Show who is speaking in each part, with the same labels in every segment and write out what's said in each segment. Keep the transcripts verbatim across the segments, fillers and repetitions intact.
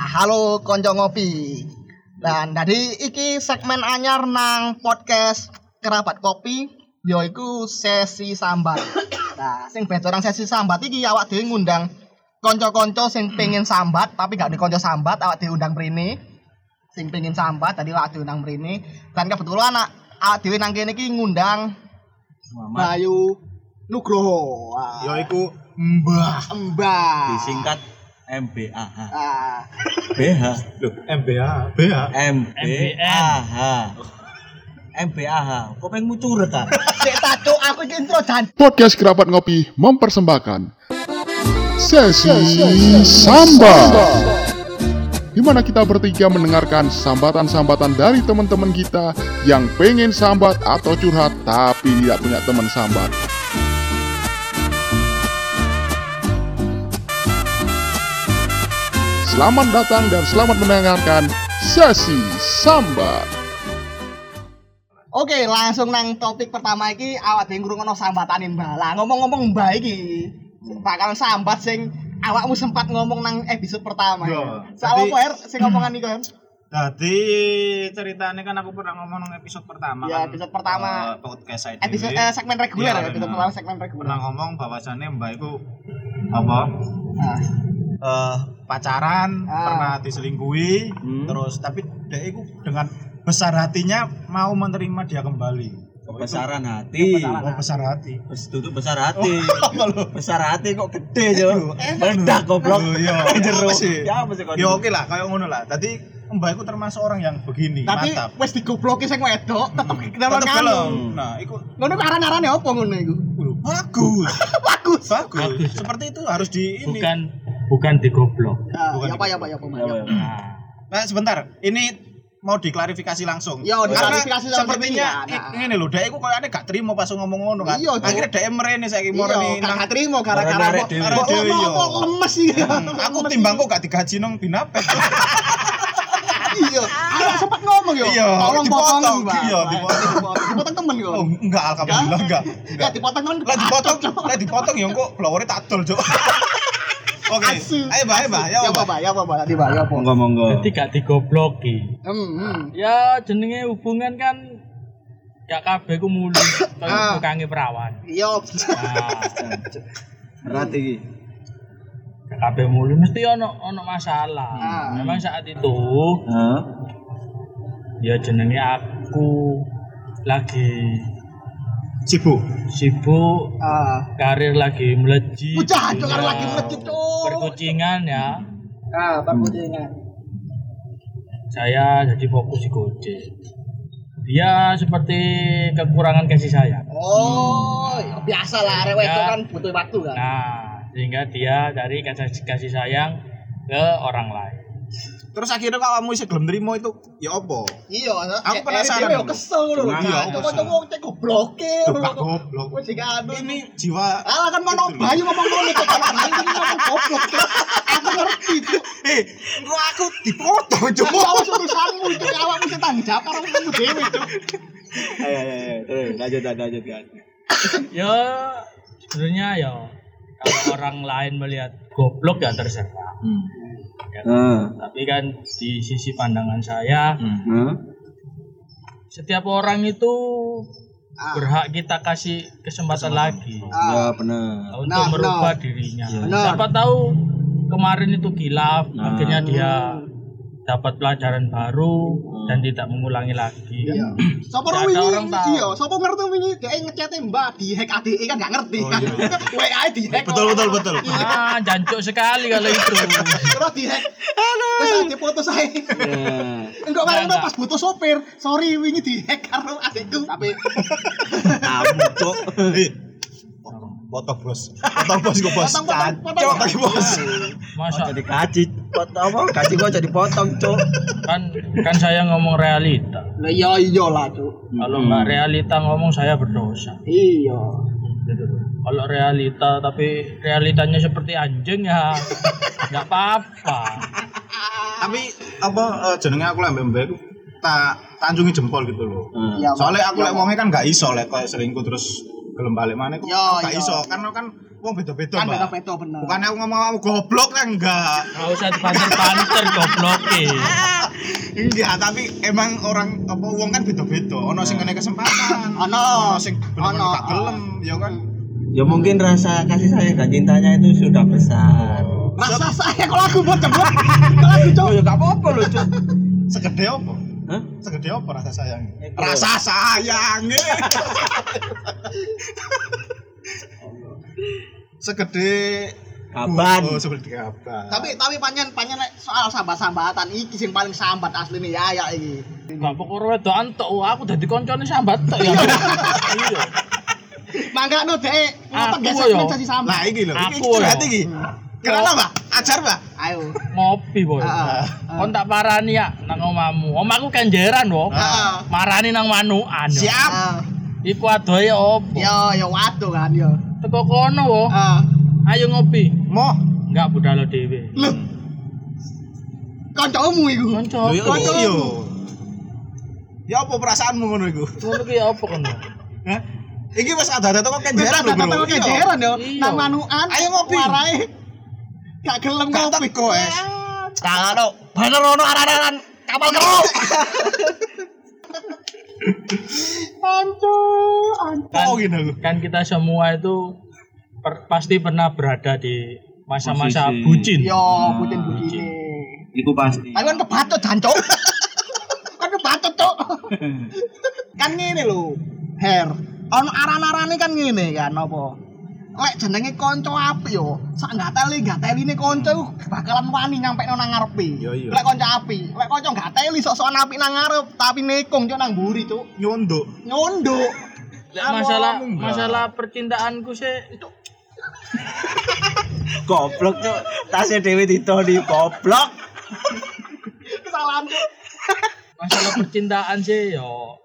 Speaker 1: halo konco ngopi. Dan tadi iki segmen anyar nang podcast Kerabat Kopi, yaiku sesi sambat. Nah, sing becorang sesi sambat iki awak dhewe ngundang konco-konco sing pengen sambat tapi gak dikonco sambat, awak dhewe undang mrene. Sing pengen sambat tadi awak dhewe undang mrene. Dan kebetulan awak dhewe nang kene iki ngundang Bayu Nugroho.
Speaker 2: Yaiku Mbah
Speaker 1: Mbah.
Speaker 3: Disingkat M B A H.
Speaker 1: Ah.
Speaker 3: B H.
Speaker 2: Loh, M B A, B H.
Speaker 3: M B A H. M B A H. Kok pengen mucurut ta?
Speaker 1: Sik tato aku iki intro dan
Speaker 4: Podcast Kerabat Ngopi mempersembahkan Sesi Sambat, di mana kita bertiga mendengarkan sambatan-sambatan dari teman-teman kita yang pengen sambat atau curhat tapi tidak punya teman sambat. Selamat datang dan selamat mendengarkan Sesi Sambat.
Speaker 1: Oke, langsung nang topik pertama iki awak dhewe ngrungokno sambatane Mbah. Lah ngomong-ngomong Mbah iki bakal sambat sing awakmu sempat ngomong nang episode pertama.
Speaker 2: Yo,
Speaker 1: Soal
Speaker 2: tadi-
Speaker 1: apa er sing ngomongan iku? Em?
Speaker 2: Jadi ceritanya kan aku pernah ngomong nang episode pertama
Speaker 1: Ya,
Speaker 2: kan.
Speaker 1: episode pertama.
Speaker 2: eh, podcast I D W.
Speaker 1: Episode eh, segmen reguler
Speaker 2: Iya,
Speaker 1: ya, episode
Speaker 2: benar.
Speaker 1: pertama segmen reguler.
Speaker 2: Pernah ngomong bahwasannya Mbak itu apa?
Speaker 1: Nah,
Speaker 2: eh pacaran,
Speaker 1: Ah.
Speaker 2: pernah diselingkuhi,
Speaker 3: Hmm.
Speaker 2: terus tapi dia itu dengan besar hatinya mau menerima dia kembali.
Speaker 3: Kebesaran hati.
Speaker 2: Oh, besar hati.
Speaker 3: Terus duduk besar hati.
Speaker 2: Apa lu?
Speaker 3: Besar hati kok gede jo. Meledak goblok.
Speaker 2: Oh, iya.
Speaker 3: Jero.
Speaker 2: Apa sih?
Speaker 3: Ya apa sih kok?
Speaker 2: Ya oke lah, kayak ngono lah. Tadi Mbak itu termasuk orang yang begini,
Speaker 1: tapi
Speaker 2: mantap.
Speaker 1: wis digobloki sing wedok, tetep kenapa
Speaker 2: Tetep
Speaker 1: nganu.
Speaker 2: gelem. Nah, iku
Speaker 1: Ngono aran-arane opo ngono iku?
Speaker 2: bagus.
Speaker 1: Bagus.
Speaker 2: Bagus. Seperti itu harus di ini.
Speaker 5: bukan bukan digoblok.
Speaker 1: Ah,
Speaker 2: Bukan
Speaker 1: ya apa ya apa ya apa.
Speaker 3: Ya,
Speaker 1: ya.
Speaker 3: ya.
Speaker 5: Nah,
Speaker 2: Nah, sebentar. Ini mau diklarifikasi langsung.
Speaker 1: Ya,
Speaker 2: Karena
Speaker 1: diklarifikasi langsung
Speaker 2: sepertinya
Speaker 1: ini, nah.
Speaker 2: i- ngene lho, dhek iku koyoane gak trimo pas ngomong ngono kan.
Speaker 1: Iya, Cuk.
Speaker 2: Akhirnya dhek mrene saiki
Speaker 1: Iya,
Speaker 2: moreni nang
Speaker 1: gak trimo gara-gara
Speaker 3: Gara-gara
Speaker 1: kok
Speaker 3: dhewe.
Speaker 1: kok- kok-
Speaker 2: Dhewe, iya.
Speaker 1: kok lemes iki.
Speaker 2: Hmm, aku
Speaker 1: Lemes
Speaker 2: timbang
Speaker 1: iki.
Speaker 2: kok gak digaji nang Binapet.
Speaker 1: Iya, aku sempat ngomong yo.
Speaker 2: Iya,
Speaker 1: tolong
Speaker 2: dipotong.
Speaker 1: potong, Mbak.
Speaker 2: Iya, dipotong.
Speaker 1: Dipotong temen kok.
Speaker 2: Oh, enggak alhamdulillah enggak.
Speaker 1: Ya dipotong temen.
Speaker 2: Lah dipotong, lah dipotong ya kok blowere tak dol, Cuk. Oke.
Speaker 1: Asu.
Speaker 2: Ayo, Mbak, ayo, Mbak. Ya,
Speaker 1: Ya apa,
Speaker 2: Mbak.
Speaker 1: Mbak? Ya apa, Mbak? Tadi, Mbak, ya apa?
Speaker 3: Monggo monggo.
Speaker 5: jadi gak digobloki.
Speaker 1: Hmm, hmm.
Speaker 5: Ya jenenge hubungan kan gak kabeh ku mulu
Speaker 1: Ah.
Speaker 5: kaya bukange perawan.
Speaker 1: Iya.
Speaker 5: Nah,
Speaker 3: Berat iki.
Speaker 5: gak kabeh mulu mesti ono ono masalah.
Speaker 1: Ah.
Speaker 5: Memang saat itu
Speaker 3: Hah?
Speaker 5: ya jenenge aku lagi
Speaker 2: Sibuk.
Speaker 5: sibuk,
Speaker 1: Ah.
Speaker 5: karir lagi melejit.
Speaker 1: Bocah, itu kan
Speaker 5: dunia
Speaker 1: lagi melejit, Cuk.
Speaker 5: Perkucingan ya.
Speaker 1: Ah, perkucingan.
Speaker 5: Saya jadi fokus di Gojek. Dia seperti kekurangan kasih sayang.
Speaker 1: Oh, ya biasa lah, arek wedok
Speaker 5: Ya.
Speaker 1: kan butuh waktu kan.
Speaker 5: Nah, sehingga dia dari kasih, kasih sayang ke orang lain.
Speaker 2: Terus akhirnya kalau kamu bisa gelem nrimo itu ya apa?
Speaker 1: Iya,
Speaker 2: Aku penasaran
Speaker 1: Dia
Speaker 2: dulu.
Speaker 1: kesel lho.
Speaker 2: Iya,
Speaker 1: Iya,
Speaker 2: kesel.
Speaker 1: kok wong cek gobloke.
Speaker 2: Tuh, gak goblok.
Speaker 1: Wis anu.
Speaker 2: Ini jiwa
Speaker 1: Alah kan ngono
Speaker 2: Gitu.
Speaker 1: Bayu ngomong ngono kok kan Bayu ini ngomong goblok. Cuk. Aku ngerti itu.
Speaker 2: Eh, kok aku dipotong, Cuk.
Speaker 1: Cuma wis urusanmu itu awakmu sing tanggung jawab karo kamu dhewe, Cuk.
Speaker 3: Ayo ayo ayo. Terus lanjut lanjut kan.
Speaker 5: Ya, sebenarnya ya kalau orang lain melihat goblok ya terserah.
Speaker 3: Hmm.
Speaker 5: Ya,
Speaker 3: Heeh.
Speaker 5: tapi kan di sisi pandangan saya,
Speaker 3: Heeh.
Speaker 5: setiap orang itu
Speaker 1: Ah.
Speaker 5: berhak kita kasih kesempatan lagi
Speaker 3: Ya benar.
Speaker 5: untuk
Speaker 1: Nah,
Speaker 5: merubah
Speaker 1: nah.
Speaker 5: dirinya.
Speaker 1: Benar.
Speaker 5: Siapa tahu kemarin itu kilaf,
Speaker 3: Nah.
Speaker 5: akhirnya dia dapat pelajaran baru dan tidak mengulangi lagi.
Speaker 1: Iya.
Speaker 5: Kan?
Speaker 1: Sopo
Speaker 5: Nggak ada
Speaker 1: wingi?
Speaker 5: orang tahu.
Speaker 1: Iya, sopo ngerti wingi dhek ngechat Mbak di hack A D E kan enggak ngerti.
Speaker 2: Oh, iya.
Speaker 1: W A di hack.
Speaker 2: Betul, betul, betul.
Speaker 5: Ah, jancuk sekali kalau itu.
Speaker 1: Terus di hack. Wis ade foto saya.
Speaker 3: Ya.
Speaker 1: Enggak bareng
Speaker 5: Enggak,
Speaker 1: pas butuh sopir. Sorry wingi di hack karo adikku. Tapi
Speaker 3: Kamu cok.
Speaker 2: Eh, potong bos, potong bos gue bos.
Speaker 1: potong potong potong.
Speaker 2: Cok, potong bos.
Speaker 5: Masa
Speaker 3: Jadi kaji. Potong apa? Kaji gua jadi potong cok.
Speaker 5: kan kan saya ngomong realita.
Speaker 1: Lah iya iyalah, Cuk.
Speaker 5: Kalau nggak realita ngomong saya berdosa.
Speaker 1: Iya.
Speaker 5: Gitu loh. Kalau realita tapi realitanya seperti anjing ya nggak apa-apa.
Speaker 2: Tapi apa eh, jenenge aku lek mbek tak tanjungi jempol gitu loh.
Speaker 1: Iya,
Speaker 2: Soalnya aku
Speaker 1: iya,
Speaker 2: lek wonge kan gak iso lek koyo selingkuh terus gelem balik maneh kok
Speaker 1: Yo,
Speaker 2: gak
Speaker 1: yo.
Speaker 2: iso karena kan wong beda-beda,
Speaker 1: Kan
Speaker 2: Mbak.
Speaker 1: beda-beda bener.
Speaker 2: Bukan aku ngomong kamu goblok kan enggak.
Speaker 5: Enggak usah dibanter-banter gobloke.
Speaker 2: Enggak, tapi emang orang apa wong kan beda-beda. Ono sing ngene kesempatan,
Speaker 1: Ono.
Speaker 2: ono sing bener-bener
Speaker 1: Ono.
Speaker 2: gak gelem, ya kan.
Speaker 3: Ya mungkin rasa kasih sayang dan cintanya itu sudah besar.
Speaker 1: Rasa saya kalau aku buat jebol. Kalau aku cok.
Speaker 3: Oh ya gak apa-apa loh, Cuk.
Speaker 2: Segede apa?
Speaker 3: Hah?
Speaker 2: Segede apa rasa sayang?
Speaker 3: Eh,
Speaker 2: Rasa sayang. Segede
Speaker 3: Kapan?
Speaker 2: Oh, segede kapan?
Speaker 1: Tapi tapi panjen panjen nek soal sambat-sambatan iki sing paling sambat asline ya ya iki.
Speaker 5: Gak pokok wedokan tok, wah, aku dadi koncone sambat tok ya. Iya.
Speaker 1: Mangkano dek
Speaker 5: Aku
Speaker 1: ngoten
Speaker 5: yo.
Speaker 1: gesek sasi sambat.
Speaker 2: Lah iki lho, iki
Speaker 5: Aku
Speaker 2: curhat
Speaker 5: ya.
Speaker 2: iki. Kenapa, Mbak? Ajar, Mbak.
Speaker 1: Ayo.
Speaker 5: Ngopi, Boy.
Speaker 1: Heeh.
Speaker 5: Kon tak parani ya nang omamu. Omahku kenjeran, wo.
Speaker 1: Heeh.
Speaker 5: Marani nang manukan. yo.
Speaker 2: Siap.
Speaker 5: Iku adohe opo?
Speaker 1: Yo yo waduh kan yo.
Speaker 5: Teko kono, wo.
Speaker 1: Heeh.
Speaker 5: Ayo ngopi.
Speaker 2: Moh.
Speaker 5: Enggak budal dhewe.
Speaker 1: Lho. Kancamu iku.
Speaker 5: Kanca.
Speaker 2: Lho yo
Speaker 1: Kanca.
Speaker 2: yo. Ya apa perasaanmu ngono iku?
Speaker 5: Ngono ki apa kon?
Speaker 2: Hah? Iki wis ada-ada teko kenjeran lho,
Speaker 1: Datang
Speaker 2: Bro.
Speaker 1: ke jeran yo.
Speaker 5: Iya.
Speaker 1: Nang manukan.
Speaker 2: Ayo ngopi.
Speaker 1: Warai. Gak gelem
Speaker 2: Gak
Speaker 1: ngopi.
Speaker 2: teko, es.
Speaker 3: Kalau bener ono aran-aran kapal keruk.
Speaker 1: Anco, anco.
Speaker 2: Oh gini aku.
Speaker 5: Kan kita semua itu per- pasti pernah berada di masa-masa
Speaker 3: Posisi.
Speaker 5: bucin.
Speaker 1: Yo, bucin begini.
Speaker 3: Iku pasti.
Speaker 1: Aku kan kebatut jancuk. Kan kebatut, Cuk. Kan ngene lho. Her. Ono aran-arane kan ngene kan apa? Lek jenenge kanca apik yo, sak gateli gateline kanca iku bakalan wani nyampe nang ngarepe.
Speaker 2: Yo, yo.
Speaker 1: Lek kanca apik, lek kanca gateli sok-sokan apik nang ngarep tapi nekong Cuk nang mburi, Cuk.
Speaker 2: Nyondok.
Speaker 1: Nyondok.
Speaker 5: Lek masalah
Speaker 2: Enggak.
Speaker 5: masalah percintaanku sih
Speaker 3: Goblok, Cuk. Tasnya dhewe ditoni goblok.
Speaker 1: Kesalahan, Cuk.
Speaker 5: masalah percintaan sih yo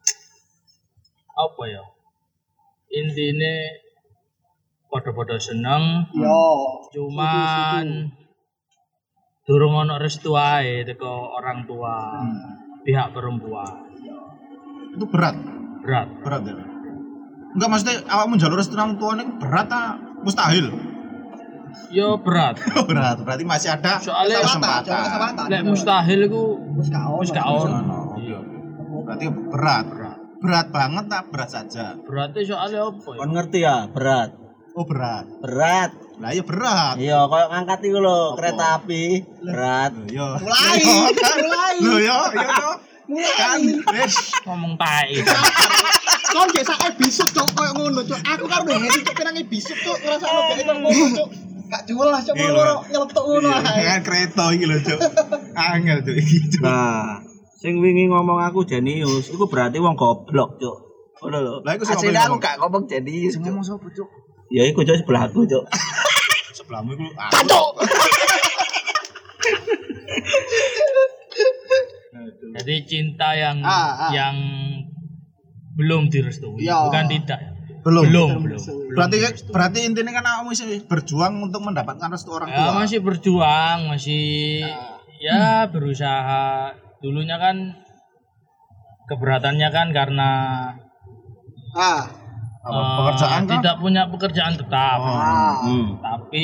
Speaker 5: apa ya? Intine podo-podo seneng,
Speaker 1: Yo.
Speaker 5: cuman durung ono restu ae teko orang tua pihak perempuan.
Speaker 2: Itu berat.
Speaker 5: Berat.
Speaker 2: Berat ya. Enggak maksudnya awakmu njaluk restu nang tuane berat ta mustahil?
Speaker 5: Yo berat.
Speaker 2: Berat. Berarti masih ada
Speaker 5: Soalnya
Speaker 1: Kesempatan, Cuk, kesempatan.
Speaker 5: lek mustahil iku
Speaker 1: Wis gak ono.
Speaker 5: wis gak ono.
Speaker 2: Iya. Berarti berat. Berat banget tak berat saja.
Speaker 5: Berarti soalnya apa ya?
Speaker 3: Kon ngerti ya, berat.
Speaker 2: Oh berat.
Speaker 3: Berat.
Speaker 2: Lah iya berat.
Speaker 3: Iya, koyo ngangkat iku lho,
Speaker 2: Apa?
Speaker 3: kereta api. Berat.
Speaker 2: Loh, Yo.
Speaker 1: Mulai, mulai.
Speaker 2: Loh yo, yo yo. Kan wis
Speaker 5: Ngomong tai.
Speaker 1: Kon gak sak episode Cuk koyo ngono, Cuk. Aku kan udah ngene Cuk pirang episode Cuk, ngrasakno gak iso ngono, Cuk. Gak jelas Cuk
Speaker 2: Iya,
Speaker 1: loro nyeletuk ngono ae.
Speaker 2: kan kereta iki lho, Cuk. Angel Cuk iki. Cuk.
Speaker 3: Nah, sing wingi ngomong aku jenius, iku berarti wong goblok, Cuk. Ngono lho.
Speaker 2: Lah, iku sing
Speaker 3: Asline
Speaker 2: ngomong-
Speaker 3: aku gak ngomong jenius, Cuk.
Speaker 1: Ngomong sapa, Cuk?
Speaker 3: Ya iku Cuk sebelahku, Cuk.
Speaker 2: Sebelahmu iku ah,
Speaker 1: Cuk.
Speaker 5: Jadi cinta yang
Speaker 1: Ah, ah.
Speaker 5: yang belum direstui,
Speaker 1: Ya.
Speaker 5: bukan tidak.
Speaker 2: belum.
Speaker 5: Belum, belum. belum
Speaker 2: Berarti
Speaker 5: direstui.
Speaker 2: berarti intinya kan awakmu masih berjuang untuk mendapatkan restu orang
Speaker 5: ya
Speaker 2: tua.
Speaker 5: masih berjuang, masih ya berusaha. Dulunya kan keberatannya kan karena
Speaker 1: Ah.
Speaker 2: Apa,
Speaker 5: eh,
Speaker 2: pekerjaan kan?
Speaker 5: tidak punya pekerjaan tetap.
Speaker 1: Ah.
Speaker 3: Hmm.
Speaker 5: Tapi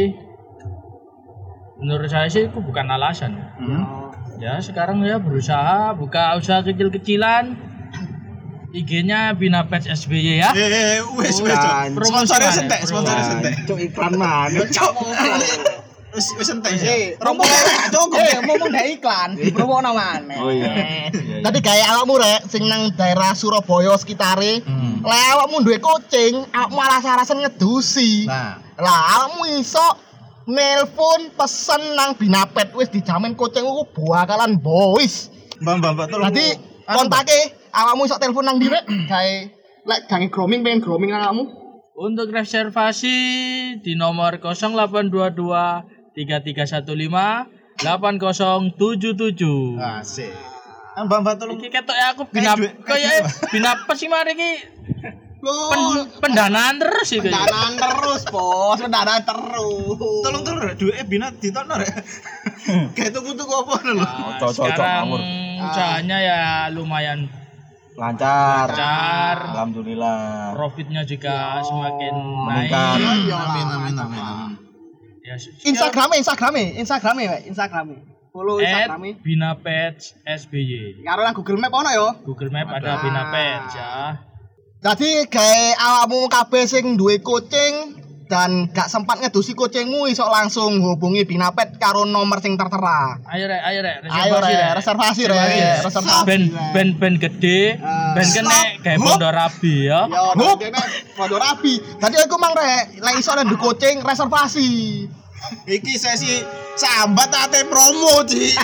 Speaker 5: menurut saya sih itu bukan alasan.
Speaker 2: Hmm.
Speaker 5: Ya sekarang ya berusaha buka usaha kecil-kecilan. I G-nya Bina Pets S B Y ya.
Speaker 2: Eh, wis wis.
Speaker 3: Kan.
Speaker 2: Sponsornya
Speaker 5: Promosi
Speaker 2: sentek,
Speaker 5: mana?
Speaker 2: sponsornya
Speaker 5: Promosi.
Speaker 2: sentek.
Speaker 3: Cuk iklan mana? Cuk.
Speaker 2: Wis wis sentek.
Speaker 1: Eh,
Speaker 2: Rombong cukup.
Speaker 1: Eh, ngomong dari iklan, dipromokno maneh.
Speaker 3: Oh iya.
Speaker 1: Tadi gaya awakmu rek sing nang daerah Surabaya sekitare.
Speaker 2: Hmm.
Speaker 1: Lek awakmu duwe kucing, awakmu alas-alasan ngedusi.
Speaker 2: Nah,
Speaker 1: Lah awakmu iso nelpon pesen nang Binapet wis dijamin kucingku bakalan bois.
Speaker 2: Mbak-mbak Mbak, tolong.
Speaker 1: Berarti
Speaker 2: Anu,
Speaker 1: kontake awakmu iso telepon nang direk gawe lek gange grooming pengen grooming nang awakmu.
Speaker 5: Untuk reservasi di nomor nol delapan dua dua tiga tiga satu lima delapan nol tujuh tujuh.
Speaker 2: Mbak. Asik. Ah, Mbak-mbak tolong.
Speaker 5: Iki ketok ya aku bina
Speaker 2: duit,
Speaker 5: kaya bina apa sih mari iki
Speaker 1: Loh,
Speaker 5: pen- pendanaan terus iki.
Speaker 1: pendanaan terus, Bos. Pendanaan terus.
Speaker 2: Tolong tolong rek duwe bina ditokno rek. Kayak tuku-tuku apa lho.
Speaker 5: Nah,
Speaker 3: Cocok, cocok,
Speaker 5: sekarang
Speaker 3: ngawur.
Speaker 5: usahanya ya lumayan
Speaker 3: Lancar.
Speaker 5: lancar,
Speaker 3: Alhamdulillah.
Speaker 5: profitnya juga semakin naik.
Speaker 3: meningkat.
Speaker 1: Ya
Speaker 2: Amin amin amin. amin.
Speaker 5: Ya,
Speaker 1: Instagramnya, Instagramnya, Instagramnya, Pak. Instagramnya. Follow Instagramnya.
Speaker 5: Bina Page S B Y.
Speaker 1: Karo nang Google Map ono ya.
Speaker 5: Google Map ada Bina Page ya.
Speaker 1: Jadi gawe awakmu kabeh sing duwe kucing dan gak sempat ngedusi kucingmu iso langsung hubungi Bina Pet karo nomor sing tertera.
Speaker 5: Ayo rek, ayo rek,
Speaker 1: Ayo
Speaker 5: reservasi
Speaker 1: rek,
Speaker 5: rek.
Speaker 1: reservasi rek, reservasi.
Speaker 5: Ben ben ben gede, ben kene kayak pondok rabi ya.
Speaker 1: Ya, kene padha rabi. Tadi aku mang rek, lek iso nang kucing reservasi.
Speaker 2: Iki sesi sambat ate promo, Ci.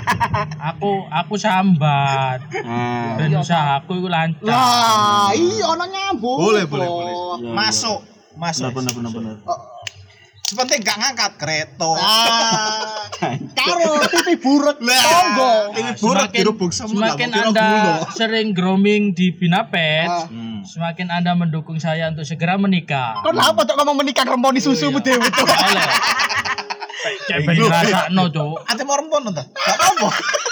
Speaker 5: Aku aku sambat.
Speaker 3: Nah,
Speaker 5: Ben usahaku iku lancar.
Speaker 1: Lah, iya ono nyambung.
Speaker 2: Boleh, boleh, boleh.
Speaker 3: Iya,
Speaker 2: Masuk, masuk.
Speaker 3: bener bener bener.
Speaker 2: Sepenting gak ngangkat kereta.
Speaker 1: Ah, karo T V buruk tonggo.
Speaker 2: Ini burak
Speaker 5: Semakin,
Speaker 2: dirubuk semua.
Speaker 5: semakin
Speaker 2: nggak mau
Speaker 5: Anda
Speaker 2: kira gula.
Speaker 5: sering grooming di Bina Pet,
Speaker 1: Ah.
Speaker 3: Hmm.
Speaker 5: semakin Anda mendukung saya untuk segera menikah.
Speaker 1: Kok kenapa cok ngomong menikah remponi susumu dhewe cok?
Speaker 5: Oleh. Cek ben rasakno, Cuk.
Speaker 2: Ate mau rempon ta? Gak apa-apa.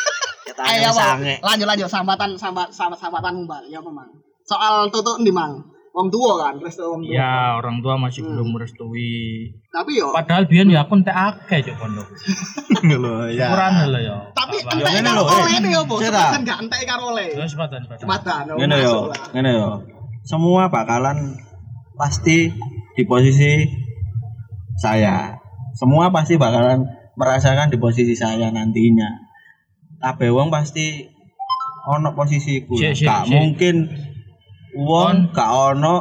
Speaker 1: Ayo Bang. Lanjut lanjut sambatan sambat sambat sambatan Mbak. Ya apa Mang? Soal tutuk ndi Mang? Wong tua kan, restu wong tua.
Speaker 5: Ya, orang tua masih belum merestui.
Speaker 1: Tapi yo
Speaker 5: Padahal biyen ya aku entek akeh Cuk pondok.
Speaker 2: Lho, ya.
Speaker 5: Ukuran lho ya.
Speaker 1: tapi
Speaker 5: Apa?
Speaker 1: entek
Speaker 3: ngene
Speaker 1: karo
Speaker 3: lho, eh.
Speaker 1: oleh nih opo?
Speaker 3: Cera.
Speaker 1: Sepadan gak entek karo oleh.
Speaker 5: Ya sepatan sepatan.
Speaker 1: Sepadan. oh,
Speaker 3: Ngene yo,
Speaker 1: masuk lah.
Speaker 3: ngene yo. Semua bakalan pasti di posisi saya. Semua pasti bakalan merasakan di posisi saya nantinya. Kabeh wong pasti ono posisiku.
Speaker 5: Sik, sik,
Speaker 3: Gak
Speaker 5: sik.
Speaker 3: mungkin wong gak ono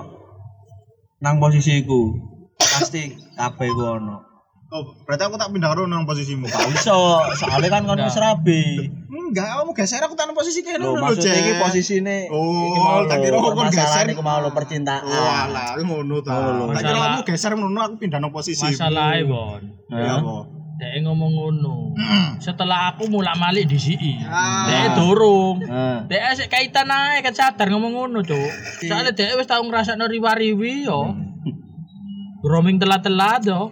Speaker 3: nang posisiku. Pasti kabeh ku ono.
Speaker 2: Oh, berarti aku tak pindah karo nang posisimu.
Speaker 3: Gak iso, soalnya kan kon wis rabi.
Speaker 2: Enggak, kamu geser aku tanam posisi kene
Speaker 3: Lho
Speaker 2: lho,
Speaker 3: maksudnya iki
Speaker 2: Cek.
Speaker 3: posisine
Speaker 2: Oh,
Speaker 3: iki mau
Speaker 2: tak
Speaker 3: lho,
Speaker 2: kira kon
Speaker 3: permasalahan
Speaker 2: geser.
Speaker 3: iku mau lho percintaan.
Speaker 2: Walah, aku ngono ta.
Speaker 3: Oh, lho.
Speaker 2: Tak kira
Speaker 5: Masalah-
Speaker 2: kamu geser ngono aku pindah nang posisi.
Speaker 5: Masalahnya Bon.
Speaker 2: Ya apa?
Speaker 5: Dek ngomong ngono. Setelah aku mulak malik di sini.
Speaker 1: Ah.
Speaker 5: Dek durung.
Speaker 3: Nah,
Speaker 5: Dek asik kaitan ae kan sadar ngomong ngono, Cuk. Soale dek wis tau ngrasakno riwa-riwi yo. Grooming telat-telat yo.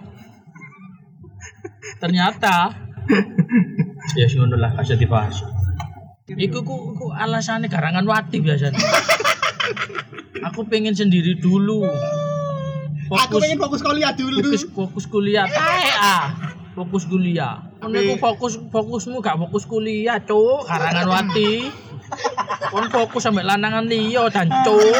Speaker 5: Ternyata ya sing ngono lah kasih dibahas. Iku ku, ku alasannya garangan wati biasanya. Aku pengen sendiri dulu.
Speaker 1: Aku pengen fokus kuliah dulu.
Speaker 5: fokus fokus kuliah tae ah fokus kuliah ngono iku fokus fokusmu gak fokus kuliah cuk karangan wati kon fokus sampe lanangan liya dan cuk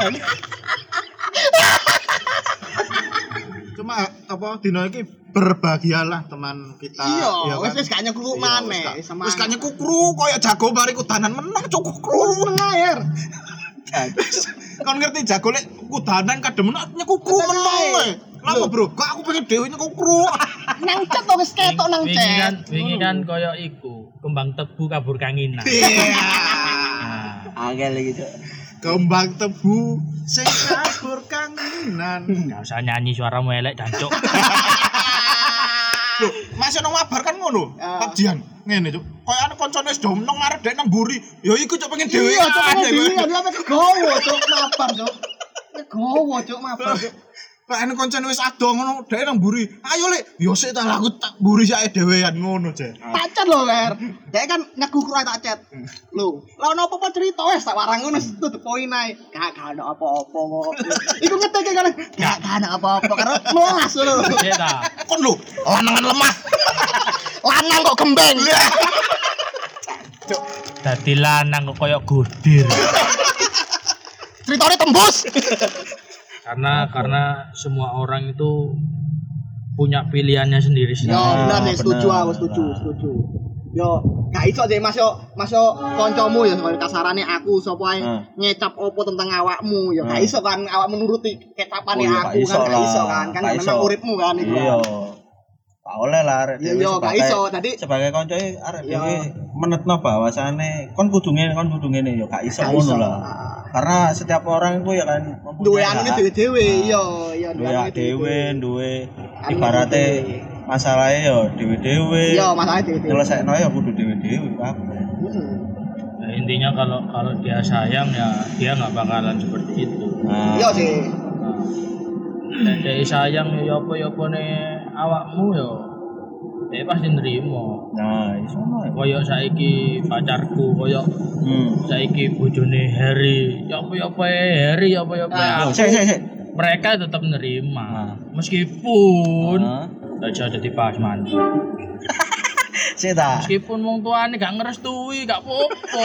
Speaker 2: Cuma apa dino iki berbahagialah teman kita.
Speaker 1: Iya,
Speaker 2: ya
Speaker 1: wis
Speaker 2: kan?
Speaker 1: wis gak nyekru
Speaker 2: Iya,
Speaker 1: maneh.
Speaker 2: wis gak- Wis gak nyekukru koyo jago bari kudanan menang cuk
Speaker 1: Kru
Speaker 2: kukru.
Speaker 1: ngair.
Speaker 2: Kon ngerti jago lek kudanan kadem nyekukru menang kowe. Lapa bro? Kok aku pengen dhewe nyekukru.
Speaker 1: Nang chat to wis ketok nang
Speaker 5: wingi kan
Speaker 1: chat.
Speaker 5: wingi kan koyo iku kembang tebu kabur kanginan
Speaker 2: Iya.
Speaker 5: nah
Speaker 3: angel iki, Cuk.
Speaker 2: Kembang tebu sing kabur kanginan.
Speaker 5: gak usah nyanyi suaramu elek dan cuk
Speaker 2: Loh, masih nang mabar kan ngono.
Speaker 1: Ah.
Speaker 2: Kajian ngene, Cuk. Kayak ana koncone wis do meneng arep dek nang mburi. Ya iku cuk pengen dhewe.
Speaker 1: Iya, cok pengen dhewe dia apa kegowo cok mabar cok. Kegowo cok mabar cok.
Speaker 2: Kayak ana koncone wis ado ngono dek nang mburi. Ayo lek, yo sik ta aku tak mburi sake dhewean ngono, Cek.
Speaker 1: Tak chat lho ler. Dek kan nyeguku ae tak chat. Lho, lah ono apa-apa cerita wis tak warang ngono to the point ae. Gak gak ono apa-apa kok. Iku ngeteke kan. Gak gak ono apa-apa karo melas lho.
Speaker 5: cek ta
Speaker 2: Kon lho, lanangan lemah.
Speaker 1: Lanang kok gembeng.
Speaker 5: dadi lanang kok koyo godir
Speaker 1: Ceritane tembus.
Speaker 5: karena karena semua orang itu punya pilihannya sendiri
Speaker 1: Yo
Speaker 5: sendiri.
Speaker 1: bener nih,
Speaker 3: bener.
Speaker 1: setuju aku, setuju, setuju. Yo, gak iso deh Mas yo, Mas yo kancamu ya sebagai kasarane aku sapa ae
Speaker 3: Hmm.
Speaker 1: ngecap opo tentang awakmu ya gak
Speaker 3: Hmm.
Speaker 1: iso kan awakmu nuruti kecapane
Speaker 3: Oh, iya,
Speaker 1: aku
Speaker 3: gak iso
Speaker 1: kan gak
Speaker 3: lah.
Speaker 1: iso kan kan
Speaker 3: Gak
Speaker 1: memang
Speaker 3: iso.
Speaker 1: uripmu kan itu.
Speaker 3: Iya. Gak oleh lah arek
Speaker 1: Iya,
Speaker 3: dhewe
Speaker 1: iya, gak
Speaker 3: sebagai-
Speaker 1: iso. Tadi
Speaker 3: sebagai koncoe arek
Speaker 1: Iya.
Speaker 3: dhewe menetno bahwasane kon kudu ngene kon kudu ngene ya gak iso
Speaker 1: Gak
Speaker 3: ngono
Speaker 1: iso.
Speaker 3: lah. Karena setiap orang itu ya kan
Speaker 1: duwe
Speaker 3: mempunyai
Speaker 1: anune
Speaker 3: hak.
Speaker 1: dhewe-dhewe iya iya
Speaker 3: duwe
Speaker 1: anune
Speaker 3: hak dhewe, duwe
Speaker 1: Anu
Speaker 3: ibarate
Speaker 1: dhewe.
Speaker 3: masalahnya ya dhewe-dhewe.
Speaker 1: iya masalah dhewe-dhewe.
Speaker 3: Nyelesaikno ya kudu dhewe-dhewe kabeh.
Speaker 1: Heeh.
Speaker 5: Nah, intinya kalau kalau dia sayang ya dia nggak bakalan seperti itu.
Speaker 3: Nah,
Speaker 1: Iya sih.
Speaker 5: Dan dia sayang ya apa ya apa nih awakmu ya dia pasti nerimo.
Speaker 3: Nah, iso no.
Speaker 5: Koyok saiki pacarku, koyok
Speaker 3: Hmm.
Speaker 5: saiki bojone Harry. Ya apa ya apa Harry, ya apa ya apa.
Speaker 3: Oh,
Speaker 5: aku.
Speaker 3: sik sik sik.
Speaker 5: Mereka tetap nerima.
Speaker 3: Nah.
Speaker 5: Meskipun
Speaker 3: Heeh.
Speaker 5: aja jadi pas mandi.
Speaker 3: Sik ta.
Speaker 5: Meskipun wong tuane gak ngerestui, gak apa-apa.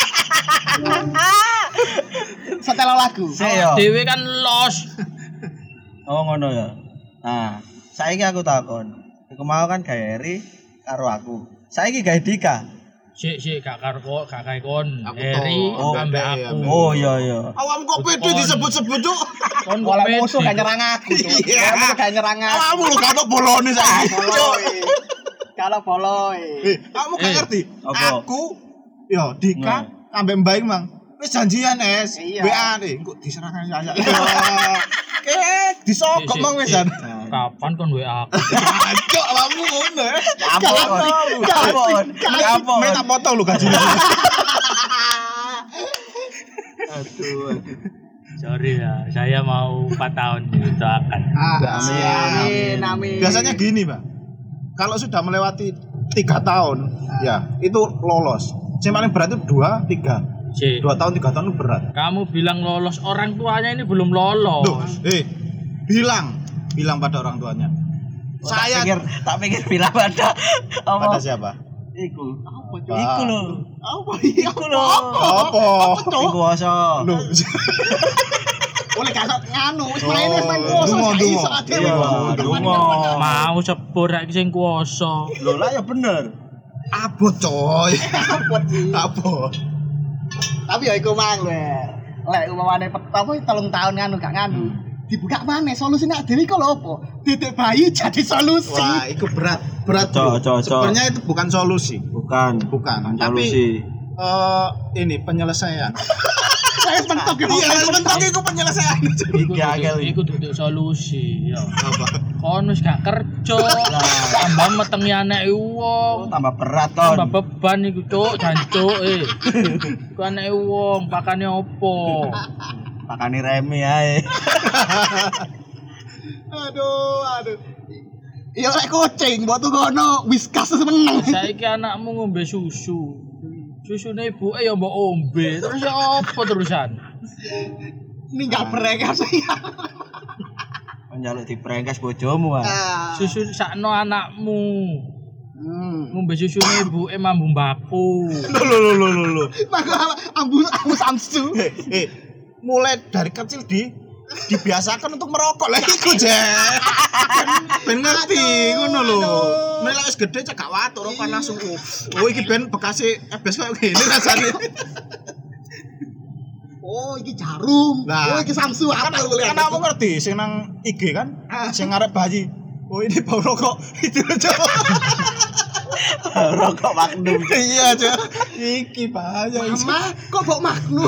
Speaker 1: Setel lagu.
Speaker 3: Sik yo.
Speaker 5: Dewe kan los.
Speaker 3: Oh ngono ya. Nah, saiki aku takon. Iku mau kan gawe Eri karo aku. Saiki gawe Dika.
Speaker 5: Sik sik gak karo kok, gak kae kon.
Speaker 2: Aku
Speaker 5: Eri
Speaker 2: toh.
Speaker 5: ambek
Speaker 2: Oh,
Speaker 5: aku.
Speaker 3: Oh iya iya.
Speaker 2: Awam kok pede
Speaker 5: Kon.
Speaker 2: disebut-sebut cuk.
Speaker 5: Kon kok
Speaker 1: Oleh
Speaker 5: pede.
Speaker 1: musuh gak nyerang aku. Cuk.
Speaker 2: Iya.
Speaker 1: Oleh musuh gak nyerang aku.
Speaker 2: Awakmu lho gak tau bolone saiki.
Speaker 1: Boloi. Kalau boloi.
Speaker 2: Eh, kamu gak
Speaker 5: Eh,
Speaker 2: ngerti?
Speaker 3: apa?
Speaker 2: Aku yo Dika ambek Mbak Mang. Wis janjian es.
Speaker 1: Iya.
Speaker 2: W A nih, kok diserahkan saya. Eh, disokok
Speaker 5: Sik,
Speaker 2: mang
Speaker 5: sik,
Speaker 2: wisan.
Speaker 5: sik. Kapan kon W A aku?
Speaker 2: Cok, awakmu ngono ya.
Speaker 3: Kapon. Kapon. Kapon.
Speaker 2: Minta potong lu gajine.
Speaker 3: Aduh.
Speaker 5: Sorry ya, saya mau empat tahun doakan.
Speaker 1: Ah,
Speaker 3: Amin.
Speaker 1: Amin. Amin.
Speaker 2: Biasanya gini, Pak. Kalau sudah melewati tiga tahun, ya, itu lolos. Yang paling berat itu dua, tiga.
Speaker 5: Sik.
Speaker 2: Dua tahun, tiga tahun itu berat.
Speaker 5: Kamu bilang lolos, orang tuanya ini belum
Speaker 2: Loh,
Speaker 5: lolos.
Speaker 2: eh, bilang, bilang pada orang tuanya.
Speaker 3: Saya
Speaker 2: Saya
Speaker 3: pikir tak pikir bilang pada
Speaker 2: pada
Speaker 3: apa?
Speaker 2: siapa?
Speaker 3: Iku.
Speaker 1: Apa,
Speaker 2: Cuk?
Speaker 3: Iku lho.
Speaker 1: Apa iya?
Speaker 3: Iku lho.
Speaker 2: Apa?
Speaker 3: Iku oso.
Speaker 2: Loh,
Speaker 1: Oleh kasut nganu, wis
Speaker 2: Oh,
Speaker 1: main wis main kuoso
Speaker 2: dungo,
Speaker 1: gak
Speaker 2: dungo.
Speaker 1: iso ade.
Speaker 3: Iya, dungo.
Speaker 5: Mau sepur rek sing kuwasa.
Speaker 3: Lho lah ya bener.
Speaker 2: abot coy.
Speaker 1: Apa sih?
Speaker 2: Abot.
Speaker 1: Tapi ya iku mang lho. Lek umpamane apa telung tahun nganu gak nganu. Dibuka maneh solusine dhewe iku lho apa? Titik bayi jadi solusi.
Speaker 2: Wah, itu berat, berat
Speaker 3: Cok,
Speaker 2: bro.
Speaker 3: cok, cok.
Speaker 2: Sebenarnya itu bukan solusi,
Speaker 3: Bukan.
Speaker 2: bukan.
Speaker 3: Tapi
Speaker 2: Tapi eh ini penyelesaian.
Speaker 1: Saya bentuk ya.
Speaker 2: Iya, sebentar itu penyelesaian.
Speaker 5: Iku
Speaker 3: Iya,
Speaker 5: duduk-
Speaker 3: Kel.
Speaker 5: iku duduk solusi ya.
Speaker 2: Apa?
Speaker 5: Kon wis gak kerja, tambah metengi anek wong.
Speaker 3: tambah berat
Speaker 5: Tambah
Speaker 3: kon.
Speaker 5: beban iku cuk, jancuk eh. Iku anek wong, pakane opo?
Speaker 3: Makane remi ae.
Speaker 1: Aduh, aduh. Ya lek kucing mbok tuh ngono Whiskas meneng.
Speaker 5: Saiki anakmu ngombe susu. Susune ibuke ya mbok ombe, terus ya apa terusan?
Speaker 1: Ninggal brekas ya.
Speaker 3: Njaluk diprengkes bojomu ah.
Speaker 5: Susu sakno anakmu.
Speaker 1: Hmm.
Speaker 5: Ngombe susune ibuke mambu mbaku.
Speaker 2: Loh, loh, loh, loh, loh.
Speaker 1: Maka ambu ambu Samsu.
Speaker 2: Eh, eh, mulai dari kecil di dibiasakan untuk merokok lah iku je. Ben ngerti ngono lho. Nek wis gede cek gak watuk rokok langsung. Oh, oh iki ben bekase ebes koyo ngene rasane.
Speaker 1: Oh, iki jarum.
Speaker 2: Nah.
Speaker 1: Oh, iki Samsu
Speaker 2: Kan
Speaker 1: apa lu
Speaker 2: kan kamu ngerti sing nang I G kan? Sing ngarep bayi. Oh ini bau rokok itu aja.
Speaker 3: Rokok magnum.
Speaker 2: Iya aja. Iki bahaya.
Speaker 1: Mama, kok bau Magnum?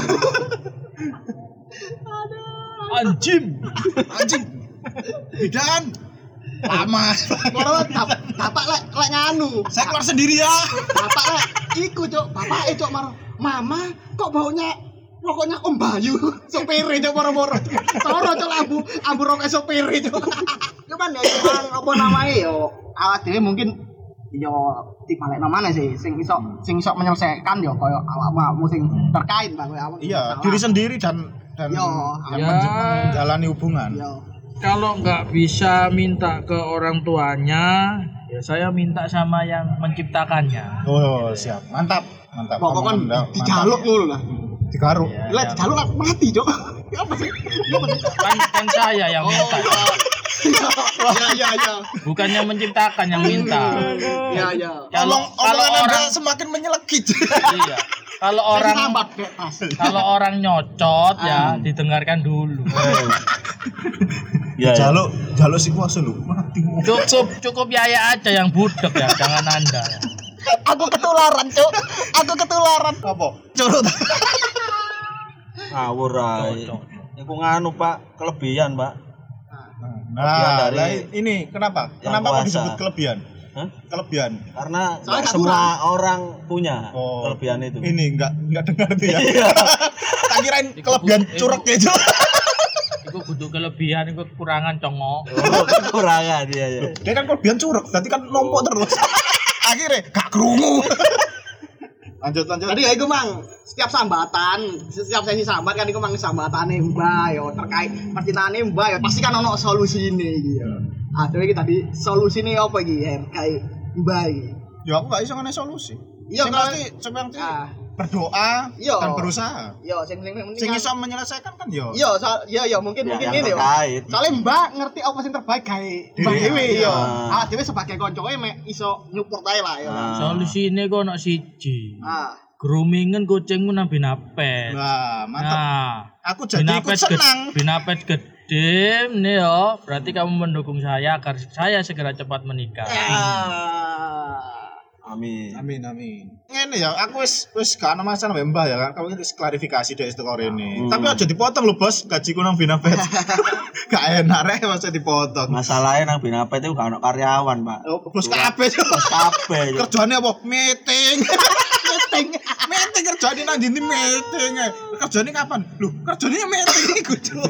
Speaker 5: Anjing.
Speaker 2: Anjing. Bidan. Lama.
Speaker 1: Moro bapak bapak lek lek nganu.
Speaker 2: Saya keluar sendiri ya.
Speaker 1: Bapak lek iku, Cuk. Bapak e, Cuk, maro. Mama, kok baunya rokoknya Om Bayu, sopir Cuk, moro-moro. Soro Cuk ambu ambu rokok sopir Cuk. Cuman ya cuman apa namanya yo awak dhewe mungkin yo dibalekno maneh sih sing iso sing iso menyelesaikan yo koyo awakmu sing terkait Bang koyo awak.
Speaker 2: Iya, diri sendiri dan dan
Speaker 1: Yo,
Speaker 2: yang
Speaker 5: ya.
Speaker 2: menj- menjalani hubungan.
Speaker 1: Yo.
Speaker 5: Kalau nggak bisa minta ke orang tuanya, ya saya minta sama yang menciptakannya.
Speaker 2: Oh, siap. Mantap. Mantap.
Speaker 1: Pokoknya kan
Speaker 2: Omongan Anda, mantap.
Speaker 1: dijaluk ngono lah.
Speaker 2: Digaruk.
Speaker 5: Ya,
Speaker 1: Lek
Speaker 5: ya.
Speaker 1: dijaluk lah mati, Cuk. Apa sih? Apa sih?
Speaker 5: Kan, kan saya yang minta,
Speaker 1: Ya ya ya.
Speaker 5: bukan yang menciptakan yang minta.
Speaker 1: Ya ya.
Speaker 5: Kalau
Speaker 2: Omong-
Speaker 5: kalau
Speaker 2: omongan Anda
Speaker 5: orang
Speaker 2: semakin menyelekit.
Speaker 5: iya, kalau orang
Speaker 1: sambat bebas.
Speaker 5: kalau orang nyocot ya didengarkan dulu.
Speaker 3: Ya.
Speaker 2: Jaluk, jaluk si kuasa lu. Mati.
Speaker 5: Cukup cukup Yaya aja yang budek ya, jangan Anda.
Speaker 1: Aku ketularan, Cuk. Aku ketularan.
Speaker 2: Apa? Curut.
Speaker 3: Ngawur ae.
Speaker 5: Cocok.
Speaker 3: Iku nganu, Pak, kelebihan, Pak.
Speaker 2: Nah,
Speaker 3: dari
Speaker 2: lah, ini kenapa?
Speaker 3: yang
Speaker 2: Kenapa kok
Speaker 3: puasa.
Speaker 2: disebut kelebihan?
Speaker 3: Hah?
Speaker 2: Kelebihan.
Speaker 3: Karena
Speaker 1: Soalnya
Speaker 3: nggak
Speaker 1: nggak
Speaker 3: semua orang punya
Speaker 2: Oh,
Speaker 3: kelebihan itu.
Speaker 2: Ini enggak enggak dengar itu ya.
Speaker 3: Iya.
Speaker 2: Tak kirain
Speaker 5: Iku-
Speaker 2: kelebihan
Speaker 5: iku-
Speaker 2: curek ya, Cuk.
Speaker 5: Iku kudu kelebihan, iku kekurangan congok.
Speaker 3: Oh, kekurangan dia ya.
Speaker 2: Dia kan kelebihan curek, berarti kan numpuk terus. akhirnya gak krungu. Lanjut lanjut.
Speaker 1: Jadi ya iku mang setiap sambatan, setiap sesi sambat kan iku mang sambatane Mbah yo terkait percintaane Mbah yo pasti kan ono solusine iki yo. Aduh iki tadi solusine apa iki ya kayak Mbah iki.
Speaker 2: Ya aku gak iso ngene solusi.
Speaker 1: Iya
Speaker 2: Sing
Speaker 1: kalau
Speaker 2: pasti seperti
Speaker 1: ah
Speaker 2: berdoa
Speaker 1: Iya.
Speaker 2: dan berusaha.
Speaker 1: yo sing sing penting
Speaker 2: Sing
Speaker 1: kan-
Speaker 2: iso menyelesaikan kan yo.
Speaker 1: Iya, so, iya iya mungkin
Speaker 3: Ya,
Speaker 1: mungkin
Speaker 3: yang
Speaker 1: ini yo.
Speaker 3: terkait.
Speaker 1: Soalnya Mbak ngerti apa sing terbaik gawe Mbak
Speaker 2: Iya,
Speaker 1: dhewe
Speaker 2: iya.
Speaker 1: yo. Awak dhewe sebagai koncoe mek iso nyupport ae lah yo.
Speaker 3: Ah.
Speaker 5: Solusine kok ono siji.
Speaker 1: Ah.
Speaker 5: Groomingen kucingmu nang binapet.
Speaker 2: Wah, mantap.
Speaker 5: Nah,
Speaker 2: Aku jadi ikut
Speaker 5: binapet gede,
Speaker 2: senang.
Speaker 5: binapet gede nih yo. Berarti kamu mendukung saya agar saya segera cepat menikah.
Speaker 1: Ah.
Speaker 3: Amin.
Speaker 2: Amin amin. Ngene ya, aku wis wis gak ana masalah mbek Mbah ya kan. Kamu wis klarifikasi dek teko rene.
Speaker 3: Hmm.
Speaker 2: Tapi aja dipotong lho, Bos. Gajiku nang Binapet. Gak enak rek masa dipotong.
Speaker 3: Masalahnya nang Binapet itu gak ono karyawan, Pak.
Speaker 2: Oh, bos kabeh.
Speaker 3: Terus kabeh. Cuk.
Speaker 2: Kerjane apa? Meeting. Meeting. Meeting kerjane nang ndi meeting. Kerjane kapan? Lho, kerjane meeting iku, Cuk.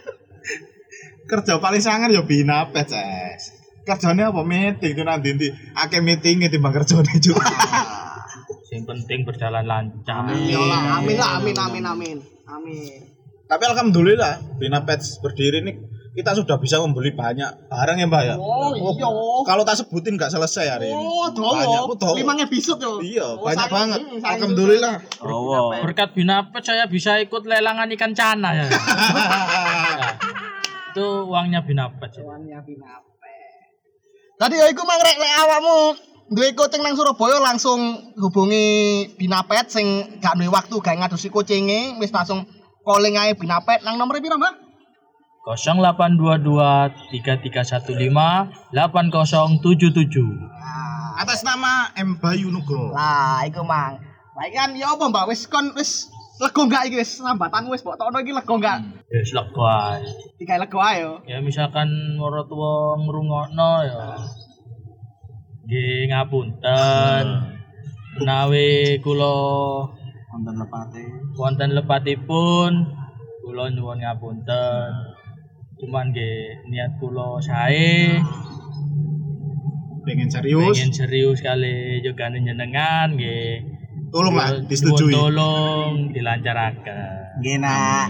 Speaker 2: Kerja paling sangar ya Binapet, Ces. Kerjane apa meeting itu nang ndi? Akeh meetinge timbang kerjane, Cuk.
Speaker 5: Yang penting berjalan lancar.
Speaker 1: Amin lah, amin lah, amin amin amin. Amin.
Speaker 2: Tapi alhamdulillah Binapet berdiri ini kita sudah bisa membeli banyak barang ya Mbak ya.
Speaker 1: Oh iya.
Speaker 2: Kalau tak sebutin nggak selesai hari ini.
Speaker 1: Oh,
Speaker 2: Banyak, aku tahu.
Speaker 1: dowo. Lima episode yo.
Speaker 2: Iya,
Speaker 1: Oh,
Speaker 2: banyak
Speaker 1: saya-
Speaker 2: banget.
Speaker 1: hmm, saya-
Speaker 2: Alhamdulillah.
Speaker 3: Oh,
Speaker 5: Berkat binapet saya bisa ikut lelangan ikan cana ya. Nah, itu uangnya binapet. ya.
Speaker 1: Tuannya Binapet. Tadi ya iku mang rek lek awakmu duwe kucing nang Surabaya langsung hubungi Binapet sing gak duwe waktu gawe ngadosi kucinge wis langsung calling ae Binapet nang nomor piro, Mbak?
Speaker 5: nol delapan dua dua tiga tiga satu lima delapan nol tujuh tujuh.
Speaker 1: Nah,
Speaker 2: Atas nama M Bayu Nugroho.
Speaker 1: lah iku mang. Lah iki kan ya apa, Mbak? Wis kon wis lego gak iki wis sambatan wis mbok tokno iki lego gak?
Speaker 5: Ya wis lego ae.
Speaker 1: Digawe lego ae yo.
Speaker 5: Ya misalkan marang tuwa ngrungokno ya. Nggih ngapunten. Menawi kula
Speaker 3: nonton lepate.
Speaker 5: wonten lepatipun kula nyuwun ngapunten. Cuman nggih niat kula sae
Speaker 2: Pengen serius.
Speaker 5: pengen serius kali juga nyenengan nggih.
Speaker 2: Tolonglah
Speaker 5: Nyuwun
Speaker 2: disetujui.
Speaker 5: Tolong dilancarkan.
Speaker 3: Nggih, Nak.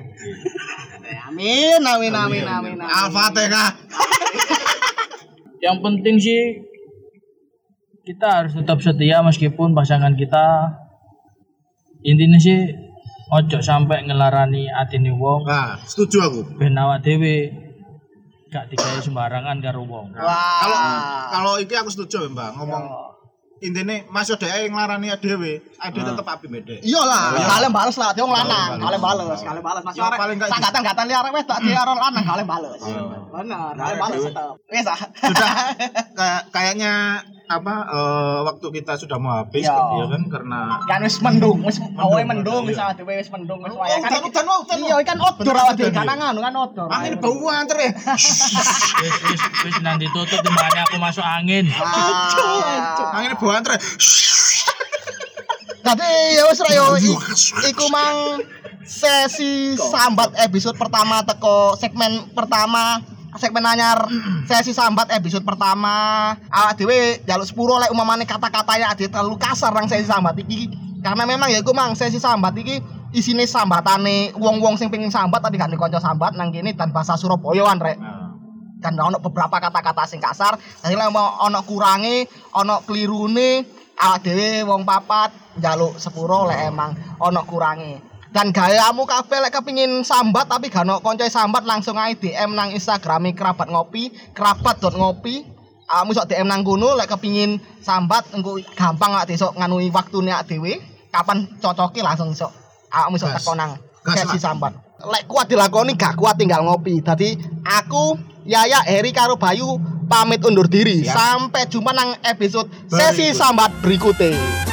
Speaker 1: Amin, amin, amin, amin. amin.
Speaker 2: Al-Fatihah.
Speaker 5: Yang penting sih kita harus tetap setia meskipun pasangan kita intinya sih ojo sampai ngelarani atine wong
Speaker 2: Nah, setuju aku.
Speaker 5: ben awak dhewe gak digawe sembarangan karo wong.
Speaker 1: Wah.
Speaker 2: Kalau kalau iki aku setuju Mbak ngomong intine masuk dhewe nglarani dhewe, ade tetep api beda.
Speaker 1: Iya lah,
Speaker 2: Iya.
Speaker 1: kalian bales lah, dia wong lanang,
Speaker 2: Kalian
Speaker 1: kalian
Speaker 2: bales.
Speaker 1: bales, kalian bales. Mas
Speaker 2: Ya,
Speaker 1: arek
Speaker 2: paling nggak
Speaker 1: sanggatan-gatan liar wes tak dia orang lanang kalian bales.
Speaker 2: Iya.
Speaker 1: Benar, kalian bales tetap. Wes ah.
Speaker 2: Sudah kayak kayaknya apa eh, waktu kita sudah mau habis
Speaker 1: Iya.
Speaker 2: kan, ya kan karena
Speaker 1: Kan wis mendung, wis awe mendung
Speaker 2: iya.
Speaker 1: wis awake dhewe wis mendung wis
Speaker 2: Oh,
Speaker 1: waya kan.
Speaker 2: udan, udan, udan,
Speaker 1: Iya, kan outdoor
Speaker 2: Bener,
Speaker 1: awake dhewe
Speaker 2: udan,
Speaker 1: kan
Speaker 2: iya.
Speaker 1: anu kan outdoor.
Speaker 2: angin bau anter ya.
Speaker 5: Wis wis wis nanti tutup timbangane aku masuk angin.
Speaker 1: Ah.
Speaker 2: Angin bau anter.
Speaker 1: Tadi ya wis ra yo i- iku mang sesi sambat episode pertama teko segmen pertama segmen anyar sesi sambat episode pertama awak dhewe njaluk sepuro lek umamane kata-katanya ade terlalu kasar nang sesi sambat iki karena memang ya iku mang sesi sambat iki isine sambatane wong-wong sing pengen sambat tadi gak kanca sambat nang kene dan bahasa Surabayaan rek kan ono beberapa kata-kata sing kasar jadi lek mau ono kurange ono kelirune awak dhewe wong papat njaluk sepuro lek emang ono kurange dan gayamu kabeh lek kepengin sambat tapi gak ono kanca sambat langsung ae D M nang Instagrame kerabat ngopi kerabat.ngopi awakmu iso D M nang kono lek kepengin sambat engko gampang awak iso nganui waktune awak dhewe kapan cocoke langsung iso awakmu iso
Speaker 2: Gas.
Speaker 1: teko nang
Speaker 2: Gas
Speaker 1: sesi
Speaker 2: lah.
Speaker 1: sambat lek kuat dilakoni gak kuat tinggal ngopi dadi aku Yaya Heri karo Bayu pamit undur diri
Speaker 2: Siap.
Speaker 1: sampai jumpa nang episode
Speaker 2: Berikut.
Speaker 1: sesi sambat berikutnya.